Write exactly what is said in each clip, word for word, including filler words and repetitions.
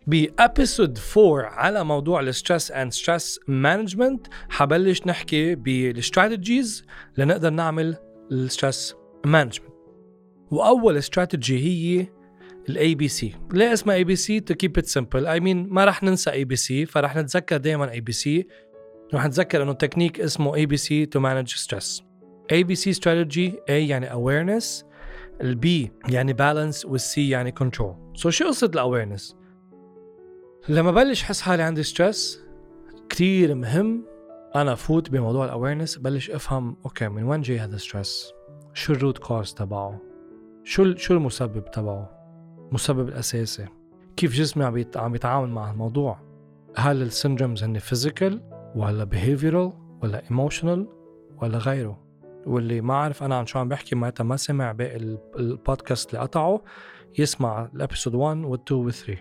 بأبيسود فور على موضوع الستريس اند ستريس مانجمنت حبلش نحكي بالاستراتيجيز لنقدر نعمل الستريس مانجمنت. وأول استراتيجي هي الاي بي سي. ليه اسمها اي بي سي؟ to keep it simple. I mean ما رح ننسى اي بي سي، فرح نتذكر دائما اي بي سي. رح نتذكر انه تكنيك اسمه اي بي سي to manage stress. اي بي سي strategy A يعني awareness، ال B يعني balance، وال C يعني control. so شو قصة ال awareness؟ لما بلش حس حالي عندي ستريس كتير مهم أنا فوت بموضوع الأويرنس، بلش أفهم أوكي من وين جاي هذا ستريس، شو الروت كوز تبعه، شو شو المسبب تبعه، المسبب الأساسي، كيف جسمي عم عم يتعامل مع الموضوع. هل السيندرومز هن فيزيكال ولا behavioral ولا emotional ولا غيره؟ واللي ما عارف أنا عن شو عم بحكي معناتها ما سمع باقي البودكاست اللي قطعه، يسمع الابيسود واحد و اثنين و ثلاثة.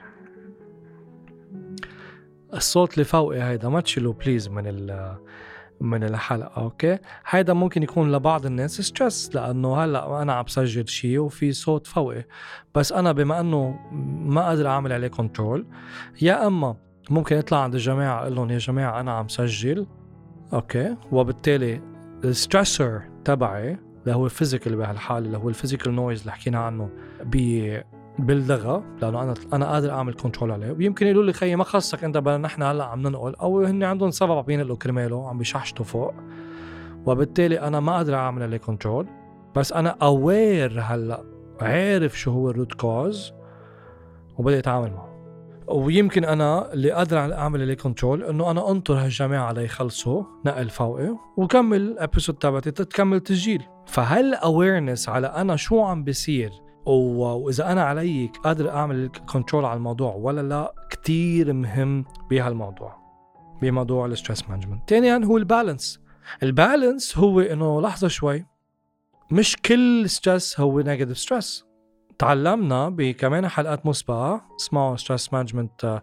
الصوت اللي فوقي هيدا ما تشيلوه بليز من من الحلقة، أوكي؟ هيدا ممكن يكون لبعض الناس ستريس، لأنه هلأ أنا عم بسجل شيء وفي صوت فوقي، بس أنا بما أنه ما قادر أعمل عليه كنترول، يا أما ممكن يطلع عند الجماعة أقول لهم يا جماعة أنا عم سجل، أوكي؟ وبالتالي الستريسر تبعي اللي هو الفيزيكال بهالحالة اللي هو الفيزيكال نويز اللي حكينا عنه بي باللغة، لأنه أنا أنا قادر أعمل كنترول عليه. ويمكن يقولوا لي خيي ما خصك أنت، بل نحن هلا عم ننقل، أو هن عندهم سبب عم ينقلوا كرماله عم بيشحشتوا فوق، وبالتالي أنا ما قادر أعمل عليه كنترول. بس أنا أوير هلا عارف شو هو الروت كوز وبدأ أتعامل معه. ويمكن أنا اللي قادر أعمل عليه كنترول إنه أنا أنطر هالجماعة على يخلصوا نقل فوقي وكمل أبيسود تبعتي تكمل تسجيل. فهل awareness على أنا شو عم بيصير وإذا أنا علي قادر أعمل كنترول على الموضوع ولا لا كتير مهم بهالموضوع، بموضوع الستريس مانجمنت. تانيا هو البالانس. البالانس هو إنه لحظة شوي، مش كل ستريس هو نيجاتيف ستريس. تعلمنا بكمان حلقات مسبقة، اسمعوا ستريس مانجمنت،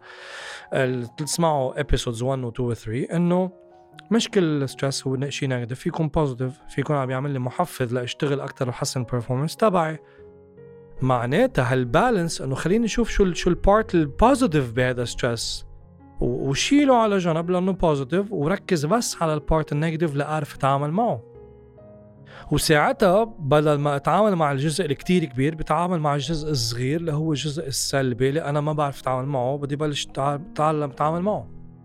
تسمعوا episodes واحد و اثنين و ثلاثة، إنه مش كل ستريس هو شيء نيجاتيف، فيكون بوزيتيف، فيكون عم يعمل لي محفز لأشتغل أكتر وحسن performance تبعي. معناتها هالبالانس انه خليني نشوف شو شو البارت البوزيتيف بهذا ستريس وشيله على جنب لانه بوزيتيف، وركز بس على البارت النيجاتيف لأعرف اتعامل معه. وساعتها بدل ما اتعامل مع الجزء الكتير كبير بتعامل مع الجزء الصغير اللي هو الجزء السلبي اللي انا ما بعرف اتعامل معه، بدي بلش اتعلم اتعامل معه.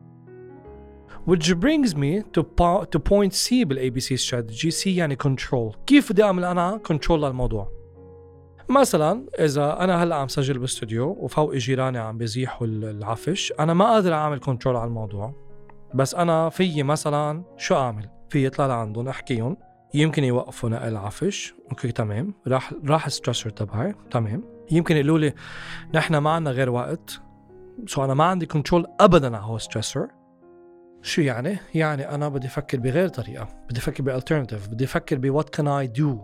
which brings me to to point C بالاي بي سي strategy. C يعني control. كيف بدي اعمل انا كنترول للموضوع؟ مثلا إذا أنا هلأ عم سجل باستوديو وفوق جيراني عم بيزيحوا العفش، أنا ما قادر أعمل كنترول على الموضوع، بس أنا في مثلا شو أعمل؟ في يطلع لعندهم أحكيهم يمكن يوقفوا نقل العفش، أوكي تمام، راح راح الستريسر تبعي، تمام. يمكن يقولوا لي نحن ما عنا غير وقت، سو أنا ما عندي كنترول أبدا على هو ستريسر. شو يعني؟ يعني أنا بدي أفكر بغير طريقة، بدي أفكر بألترناتيف، بدي أفكر ب what can I do.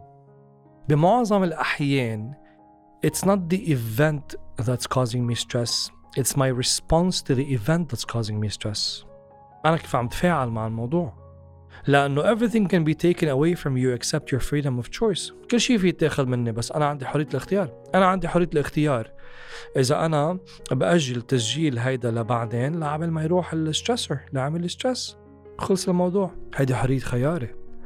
بمعظم الأحيان it's not the event that's causing me stress, it's my response to the event that's causing me stress. أنا كيف عم تفاعل مع الموضوع، لأنه everything can be taken away from you except your freedom of choice. كل شيء فيه يتاخذ مني بس أنا عندي حرية الاختيار. أنا عندي حرية الاختيار إذا أنا بأجل تسجيل هيدا لبعدين لعمل ما يروح الستريسر لعمل الستريس، خلص الموضوع، هيدا حرية خياري.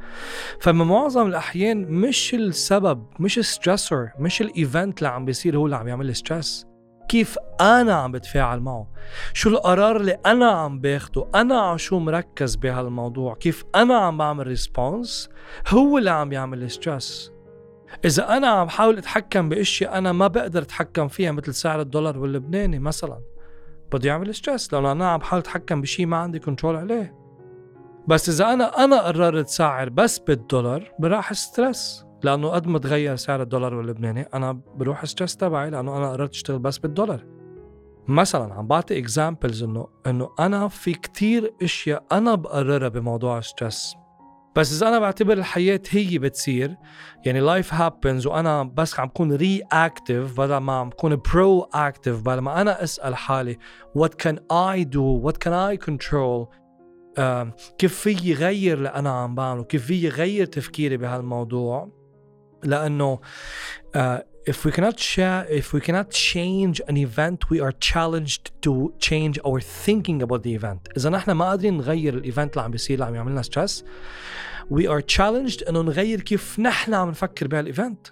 فمن معظم الأحيان مش السبب، مش الستريسر، مش الإيفنت اللي عم بيصير هو اللي عم يعمل لي ستريس، كيف أنا عم بتفاعل معه، شو القرار اللي أنا عم باخده، أنا عشو مركز بهالموضوع، كيف أنا عم بعمل ريسبونس هو اللي عم يعمل لي ستريس. إذا أنا عم حاول أتحكم بأشياء أنا ما بقدر أتحكم فيها مثل سعر الدولار واللبناني مثلا، بدي يعمل ستريس لأنه أنا عم حاول أتحكم بشيء ما عندي كنترول عليه. بس إذا أنا أنا قررت سعر بس بالدولار براح ستريس، لأنه قد ما تغير سعر الدولار واللبناني أنا بروح ستريس تبعي لأنه أنا قررت أشتغل بس بالدولار. مثلا عم بعطي examples إنه إنه أنا في كتير أشياء أنا بقررها بموضوع ستريس، بس إذا أنا بعتبر الحياة هي بتصير، يعني life happens، وأنا بس عم بكون reactive بدل ما عم بكون proactive، بدل ما أنا أسأل حالي what can I do, what can I control، آه، كيف في يغير اللي أنا عم بعمله، كيف في يغير تفكيري بهالموضوع. لأنه آه، if we cannot share, if we cannot change an event, we are challenged to change our thinking about the event. إذا نحن ما قادرين نغير الإيفنت اللي عم بيصير اللي عم يعملنا stress, we are challenged إنه نغير كيف نحن عم نفكر بهالإيفنت.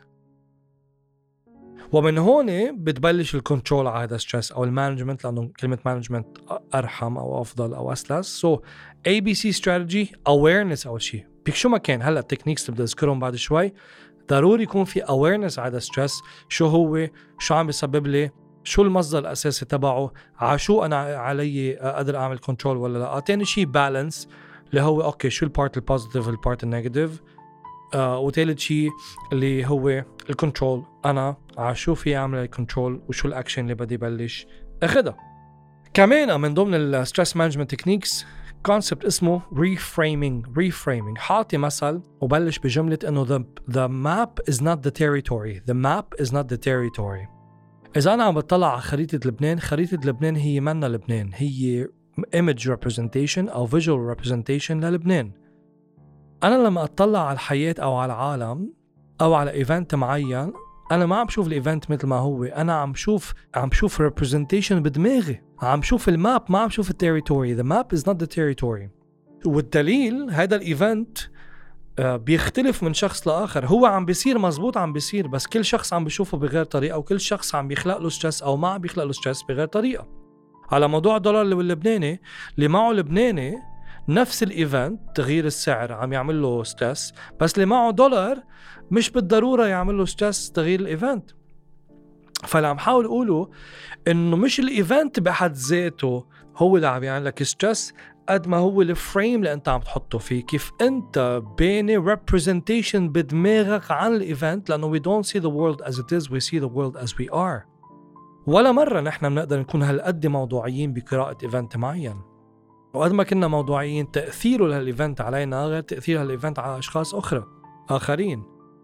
ومن هون بتبلش الكنترول على هذا ستريس أو المانجمنت، لأنه كلمة مانجمنت أرحم أو أفضل أو أسلس. so A B C strategy awareness أول شيء بيك شو ما كان. هلأ التكنيكس اللي بدي أذكرهم بعد شوي ضروري يكون في awareness على هذا ستريس، شو هو، شو عم بيسبب لي، شو المصدر الأساسي تبعه، على شو أنا علي أقدر أعمل كنترول ولا لا. تاني شيء بالانس اللي هو أوكي شو البارت البوزيتيف والبارت النيجاتيف. آه وثالث شيء اللي هو الكنترول، أنا على شو في أعمل الكنترول وشو الأكشن اللي بدي بلش أخذها. كمان من ضمن الستريس مانجمنت تكنيكس كونسبت اسمه reframing. reframing حاطي مثل وبلش بجملة إنه the, the map is not the territory. the map is not the territory. إذا أنا عم بطلع على خريطة لبنان، خريطة لبنان هي منا لبنان، هي image representation أو visual representation للبنان. أنا لما أطلع على الحياة أو على العالم أو على إيفنت معين، أنا ما عم شوف الإيفنت مثل ما هو، أنا عم شوف عم شوف representation بدماغي، عم شوف الماب، ما عم شوف التيريتوري. the map is not the territory. والدليل هذا الإيفنت بيختلف من شخص لآخر. هو عم بيصير مزبوط، عم بيصير، بس كل شخص عم بيشوفه بغير طريقة، وكل شخص عم بيخلق له ستريس أو ما عم بيخلق له ستريس بغير طريقة. على موضوع الدولار واللبناني، اللي معه لبناني نفس الإيفنت تغيير السعر عم يعمل له ستريس، بس اللي معه دولار مش بالضرورة يعمل له ستريس تغيير الإيفنت. فاللي عم حاول أقوله إنه مش الإيفنت بحد ذاته هو اللي عم يعمل لك ستريس، قد ما هو الفريم اللي أنت عم تحطه فيه، كيف أنت بيني representation بدماغك عن الإيفنت. لأنه we don't see the world as it is, we see the world as we are. ولا مرة نحن بنقدر نكون هالقد موضوعيين بقراءة إيفنت معين، وقد ما كنا موضوعيين تأثيره لهالإيفنت علينا غير تأثير هالإيفنت على أشخاص أخرى آخرين.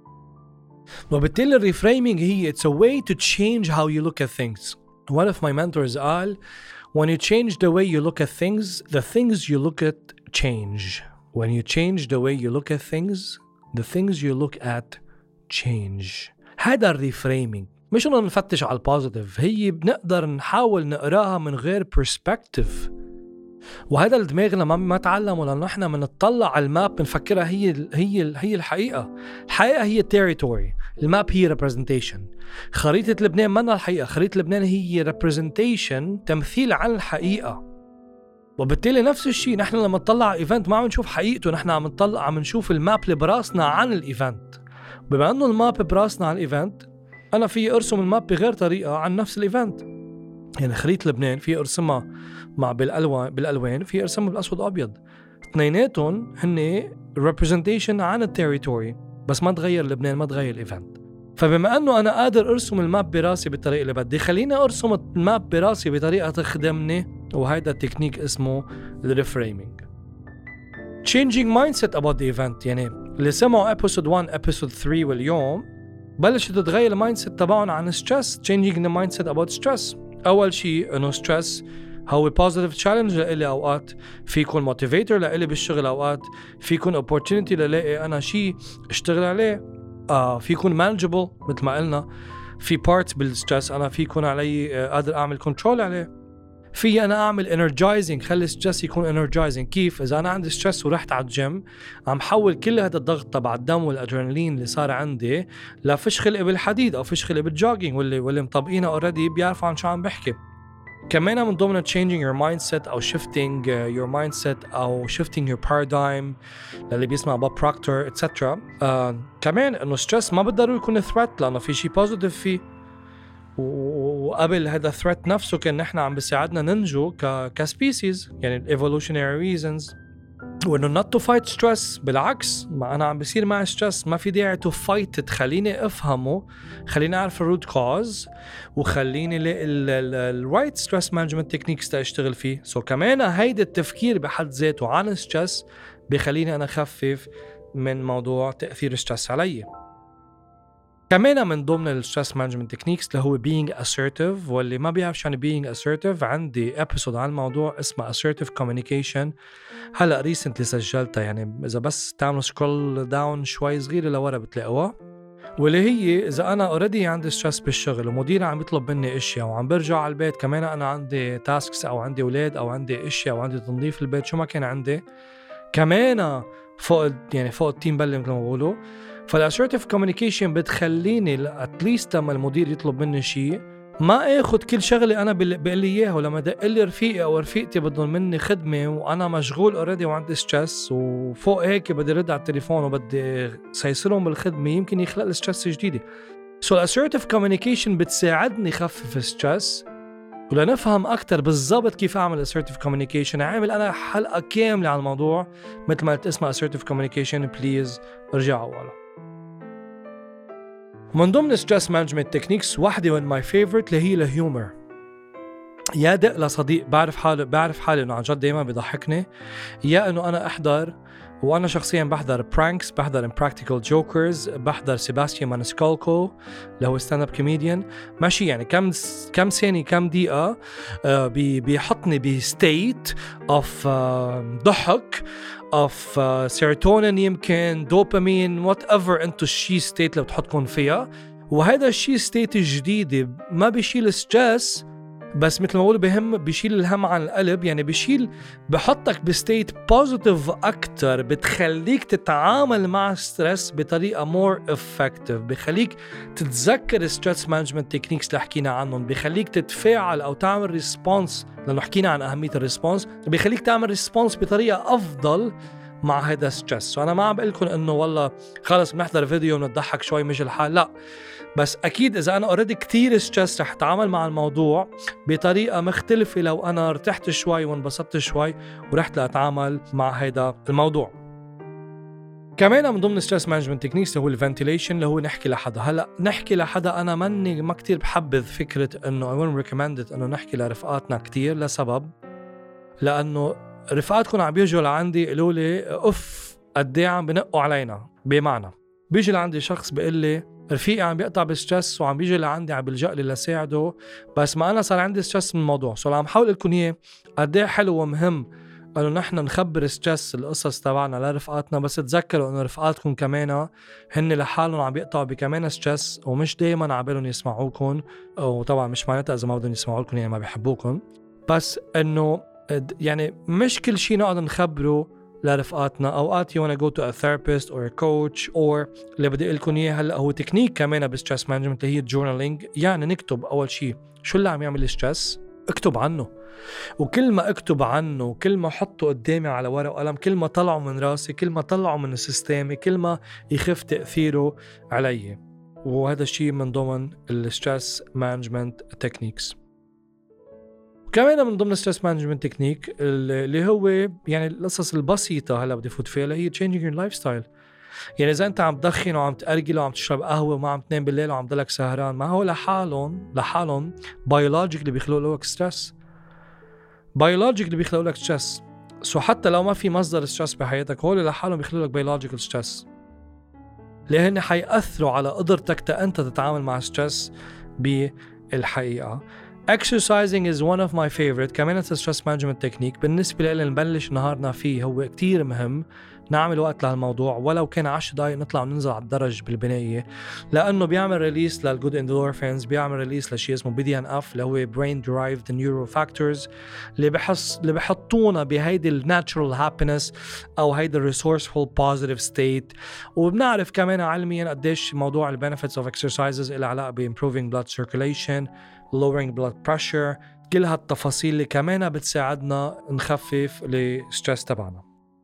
وبالتالي الريفريمينج هي it's a way to change how you look at things. One of my mentors قال when you change the way you look at things, the things you look at change. When you change the way you look at things, the things you look at change. هذا الريفريمينج مش إنه نفتش على البوزيتيف، هي بنقدر نحاول نقراها من غير perspective. وهذا الدماغنا ما ما تعلمه، لأنه إحنا منطلع على الماب بنفكرها هي هي هي الحقيقة. الحقيقة هي territory، الماب هي representation. خريطة لبنان منا الحقيقة، خريطة لبنان هي representation، تمثيل عن الحقيقة. وبالتالي نفس الشيء نحن لما نطلع على إيفنت ما عم نشوف حقيقته، نحن عم نطلع عم نشوف الماب اللي براسنا عن الإيفنت. بما أنه الماب براسنا عن الإيفنت، أنا في أرسم الماب بغير طريقة عن نفس الإيفنت. يعني خريطة لبنان في أرسمها مع بالألوان بالألوان، في أرسمها بالأسود أبيض، اثنيناتهم هن representation عن التيريتوري، بس ما تغير لبنان، ما تغير الإيفنت. فبما أنه أنا قادر أرسم الماب براسي بالطريقة اللي بدي، خليني أرسم الماب براسي بطريقة تخدمني، وهيدا التكنيك اسمه الريفريمينج. changing mindset about the event. يعني اللي سمعوا episode one episode three واليوم بلشت تتغير المايند سيت تبعهم عن stress. changing the mindset about stress. أول شيء إنه stress هو positive challenge لإلي، أوقات في يكون motivator لإلي بالشغل، أوقات في يكون opportunity للاقي أنا شيء اشتغل عليه، آه في يكون manageable مثل ما قلنا، في parts بالstress أنا في يكون علي آه قادر أعمل control عليه، في أنا أعمل energizing، خلي stress يكون energizing. كيف؟ إذا أنا عندي stress ورحت على الجيم عم حول كل هذا الضغط تبع الدم والأدرينالين اللي صار عندي لفش خلقي بالحديد أو فش خلقي بالجوجينج، واللي واللي مطبقينه already بيعرفوا عن شو عم بحكي. كمان من ضمن changing your mindset أو shifting your mindset أو shifting your paradigm للي بيسمع بوب بروكتور et cetera. آه كمان إنه stress ما بالضروري يكون threat، لأنه في شيء positive فيه، وقبل هذا threat نفسه كان نحن عم بيساعدنا ننجو ك كسبيسيز، يعني evolutionary reasons. وإنه not to fight stress، بالعكس، ما أنا عم بيصير معي stress ما في داعي to fight it، خليني أفهمه، خليني أعرف الروت كوز، وخليني ال right stress management techniques تأشتغل فيه. so كمان هيدا التفكير بحد ذاته عن stress بيخليني أنا أخفف من موضوع تأثير stress علي. كمان من ضمن الستريس مانجمنت تكنيكس اللي هو being assertive. واللي ما بيعرف شو يعني being assertive، عندي ابيسود عن الموضوع اسمه assertive communication، هلا ريسنتلي سجلتها، يعني اذا بس تعملوا سكرول داون شوي صغيره لورا بتلاقوها. واللي هي إذا أنا أوريدي عندي ستريس بالشغل ومديري عم يطلب مني أشياء وعم برجع على البيت كمان أنا عندي تاسكس أو عندي أولاد أو عندي أشياء أو عندي تنظيف البيت شو ما كان عندي كمان فوق يعني فوق التيم بلي مثل ما بقولوا. فالassertive communication بتخليني اتليست لما المدير يطلب مني شيء ما اخد كل شغلي انا بقول لي اياها، ولما دق لي رفيقي او رفيقتي بدهم مني خدمه وانا مشغول اوريدي وعندي ستريس وفوق هيك بدي رد على التليفون وبدي سيسرهم بالخدمه يمكن يخلق لي ستريس جديده. سو so assertive communication بتساعدني خفف الستريس. ولنفهم أكتر بالضبط كيف أعمل assertive communication عامل أنا حلقة كاملة على الموضوع مثل ما اسمها assertive communication، بليز ارجعوا على. من ضمن stress management techniques واحدة من my favorite اللي هي الهيومر. يا دق لصديق بعرف حالي بعرف حالي إنه عن جد دايما بيضحكني، يا إنه أنا أحضر وأنا شخصياً بحضر برانكس، بحضر impractical jokers، بحضر سيباستيان مانسكالكو اللي هو ستاند اب كوميديان ماشي، يعني كم كم ثانية كم دقيقة آه بي بيحطني بستيت اوف آه ضحك اوف آه سيروتونين يمكن دوبامين وات ايفر انتو الشي ستيت اللي بتحطكم فيها. وهذا الشي ستيت الجديد ما بيشيل ستريس بس مثل ما بقول بهم بيشيل الهم عن القلب، يعني بيشيل بحطك بستيت بوزيتيف أكتر، بتخليك تتعامل مع ستريس بطريقة مور افكتيف، بيخليك تتذكر ستريس مانجمنت تكنيكس اللي حكينا عنهم، بيخليك تتفاعل أو تعمل ريسبونس لأنه حكينا عن أهمية الريسبونس، بيخليك تعمل ريسبونس بطريقة أفضل مع هذا ستريس. وأنا ما عم بقولكم إنه والله خلص بنحضر فيديو ونضحك شوي مش الحال، لا، بس أكيد إذا أنا أوريدي كتير ستريس رح أتعامل مع الموضوع بطريقة مختلفة لو أنا ارتحت شوي وانبسطت شوي ورحت لأتعامل مع هذا الموضوع. كمان من ضمن ستريس مانجمنت تكنيكس هو الفنتيليشن اللي هو نحكي لحدا. هلا نحكي لحدا أنا مني ما كتير بحبذ فكرة إنه I wouldn't recommend it إنه نحكي لرفقاتنا كتير لسبب، لأنه رفقاتكم عم بيجوا لعندي يقولوا لي أوف قديه عم بنقوا علينا، بمعنى بيجي لعندي شخص بيقول لي رفيقي عم بيقطع بستريس وعم بيجي لعندي عم بلجأ لي لساعده، بس ما أنا صار عندي ستريس من الموضوع. سو عم حاول لكم إياه قديه حلو ومهم إنه نحن نخبر ستريس القصص تبعنا لرفقاتنا، بس تذكروا إنه رفقاتكم كمان هن لحالهم عم بيقطعوا بكمان ستريس ومش دايما عبالهم يسمعوكم، وطبعا مش معناتها إذا ما بدهم يسمعوا لكم يعني ما بيحبوكم، بس إنه يعني مش كل شيء نقدر نخبره لرفقاتنا. أوقات you wanna go to a therapist or a coach or اللي بدي أقولكم إياه هلأ هو تكنيك كمان بالستريس مانجمنت اللي هي journaling، يعني نكتب أول شيء شو اللي عم يعمل ستريس، اكتب عنه، وكل ما اكتب عنه وكل ما حطه قدامي على ورق وقلم كل ما طلعه من راسي كل ما طلعه من سيستمي كل ما يخف تأثيره علي. وهذا الشيء من ضمن الستريس مانجمنت تكنيكس. كمان من ضمن ستريس مانجمنت تكنيك اللي هو يعني القصص البسيطة هلا بدي فوت فيها اللي هي changing your lifestyle. يعني إذا أنت عم تدخن وعم تأرجل وعم تشرب قهوة وما عم تنام بالليل وعم تضلك سهران، ما هو لحالهم لحالهم بيولوجيك اللي بيخلقوا لك ستريس، بيولوجيك اللي بيخلقوا لك ستريس. سو حتى لو ما في مصدر ستريس بحياتك هول لحالهم بيخلقوا لك بيولوجيكال ستريس، لأن حيأثروا على قدرتك أنت تتعامل مع ستريس بالحقيقة. Exercising is one of my favorite. كمان stress management technique بالنسبة لي نبلش نهارنا فيه هو كتير مهم نعمل وقت لهالموضوع، ولو كان عشر دقايق نطلع وننزل على الدرج بالبناية، لأنه بيعمل ريليس للجود endorphins، بيعمل ريليس لشيء اسمه بي دي إن إف اللي هو brain derived neurofactors اللي بحس اللي بحطونا بهيدي الناتشرال happiness أو هيدي resourceful positive state. وبنعرف كمان علميا قديش موضوع benefits of exercises إلى علاقة ب improving blood circulation، lowering blood pressure، كل هالتفاصيل اللي كمان بتساعدنا نخفف الستريس تبعنا.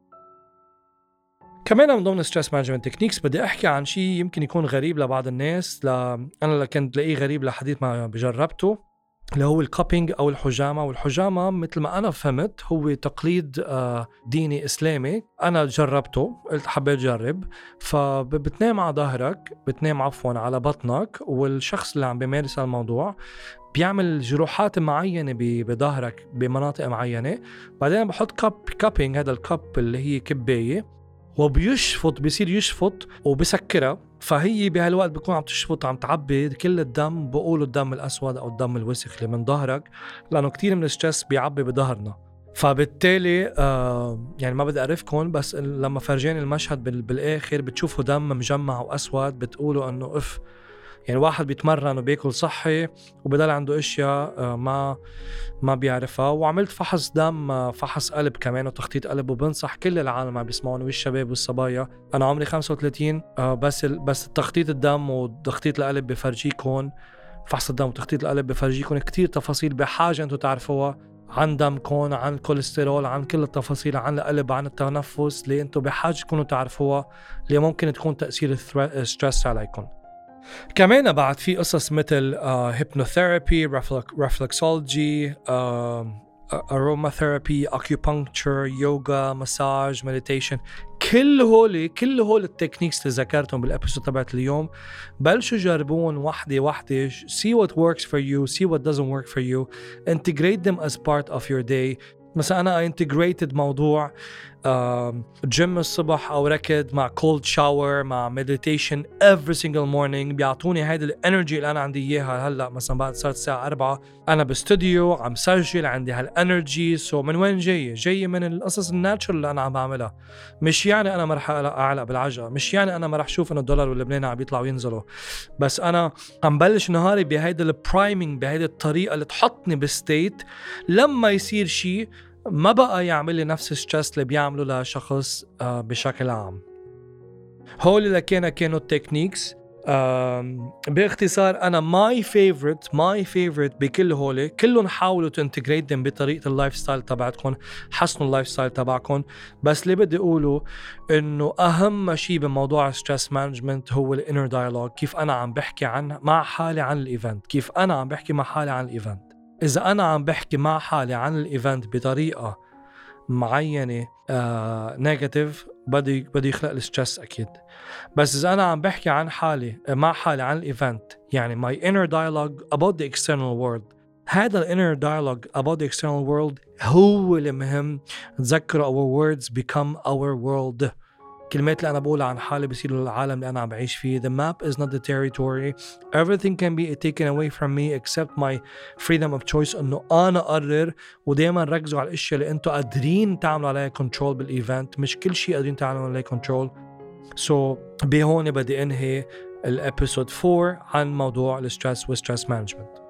كمان من ضمن ستريس مانجمنت تكنيكس بدي احكي عن شيء يمكن يكون غريب لبعض الناس، ل... انا اللي كنت لاقيه غريب لحديث ما بجربته، اللي هو الكابينج او الحجامه. والحجامه مثل ما انا فهمت هو تقليد ديني اسلامي، انا جربته قلت حبيت اجرب. فبتنام على ظهرك، بتنام عفوا على بطنك، والشخص اللي عم بيمارس الموضوع بيعمل جروحات معينه بظهرك بمناطق معينه، بعدين بحط كاب كابينج، هذا الكاب اللي هي كبايه، وبيشفط بيصير يشفط وبسكرها. فهي بهالوقت بيكون عم تشفط عم تعبي كل الدم، بقولوا الدم الأسود أو الدم الوسخ اللي من ظهرك، لأنه كتير من الستريس بيعبي بظهرنا. فبالتالي آه يعني ما بدي أعرفكم، بس لما فرجاني المشهد بالآخر بتشوفوا دم مجمع وأسود بتقولوا أنه إف، يعني واحد بيتمرن وبياكل صحي وبدل عنده اشياء آه ما ما بيعرفها. وعملت فحص دم، آه فحص قلب كمان وتخطيط قلب، وبنصح كل العالم عم بيسمعوني والشباب والصبايا. انا عمري خمسة وثلاثين آه بس بس تخطيط الدم وتخطيط القلب بفرجيكم، فحص الدم وتخطيط القلب بفرجيكم كتير تفاصيل بحاجة انتم تعرفوها عن دمكم، عن الكوليسترول، عن كل التفاصيل، عن القلب، عن التنفس اللي انتم بحاجة تكونوا تعرفوها، اللي ممكن تكون تأثير الستريس عليكم. كمان بعد في قصص مثل هيبنوثيرابي، ريفلكسولوجي، aromatherapy, acupuncture, yoga, massage, meditation. كل هولي كل هول التكنيكس اللي ذكرتهم بالابيسود تبعت اليوم بلشوا جربون وحدة وحدة. see what works for you, see what doesn't work for you, integrate them as part of your day. مثلا أنا integrated موضوع جيم الصبح أو ركض مع cold shower مع meditation every single morning، بيعطوني هيدا الانرجي اللي أنا عندي إياها. هلأ مثلا بعد صارت الساعة أربعة أنا باستوديو عم سجل، عندي هالانرجي. سو من وين جاي؟ جاي من القصص الناتشرال اللي أنا عم بعملها. مش يعني أنا ما رح أعلق بالعجقة، مش يعني أنا ما رح شوف إنه الدولار واللبناني عم بيطلعوا وينزلوا، بس أنا عم بلش نهاري بهيدا البرايمينج، بهيدا الطريقة اللي تحطني بستيت لما يصير شيء ما بقى يعمل لي نفس الستريس اللي بيعملوا لشخص آه بشكل عام. هول اللي كانوا كانوا التكنيكس. آه باختصار أنا my favorite my favorite بكل هولي كلهم حاولوا تنتجريت them بطريقة اللايف ستايل تبعتكم، حسنوا اللايف ستايل تبعكم. بس اللي بدي أقوله إنه أهم شيء بموضوع stress management هو الانر dialogue. كيف أنا عم بحكي عن مع حالي عن الإيفنت، كيف أنا عم بحكي مع حالي عن الإيفنت. إذا أنا عم بحكي مع حالي عن الإيفنت بطريقة معينة آه نيجاتيف بدي بدي يخلق الستريس أكيد. بس إذا أنا عم بحكي عن حالي مع حالي عن الإيفنت، يعني my inner dialogue about the external world، هذا ال inner dialogue about the external world هو اللي مهم. تذكروا our words become our world. كلمات اللي أنا بقولها عن حالي بيصيروا للعالم اللي أنا عم بعيش فيه. The map is not the territory. Everything can be taken away from me except my freedom of choice. إنه أنا أقرر. ودايما ركزوا على الأشياء اللي أنتوا قادرين تعملوا عليها control بالإيفنت، مش كل شيء قادرين تعملوا عليه control. So بهون بدي أنهي الابيسود فور عن موضوع الستريس والستريس مانجمنت.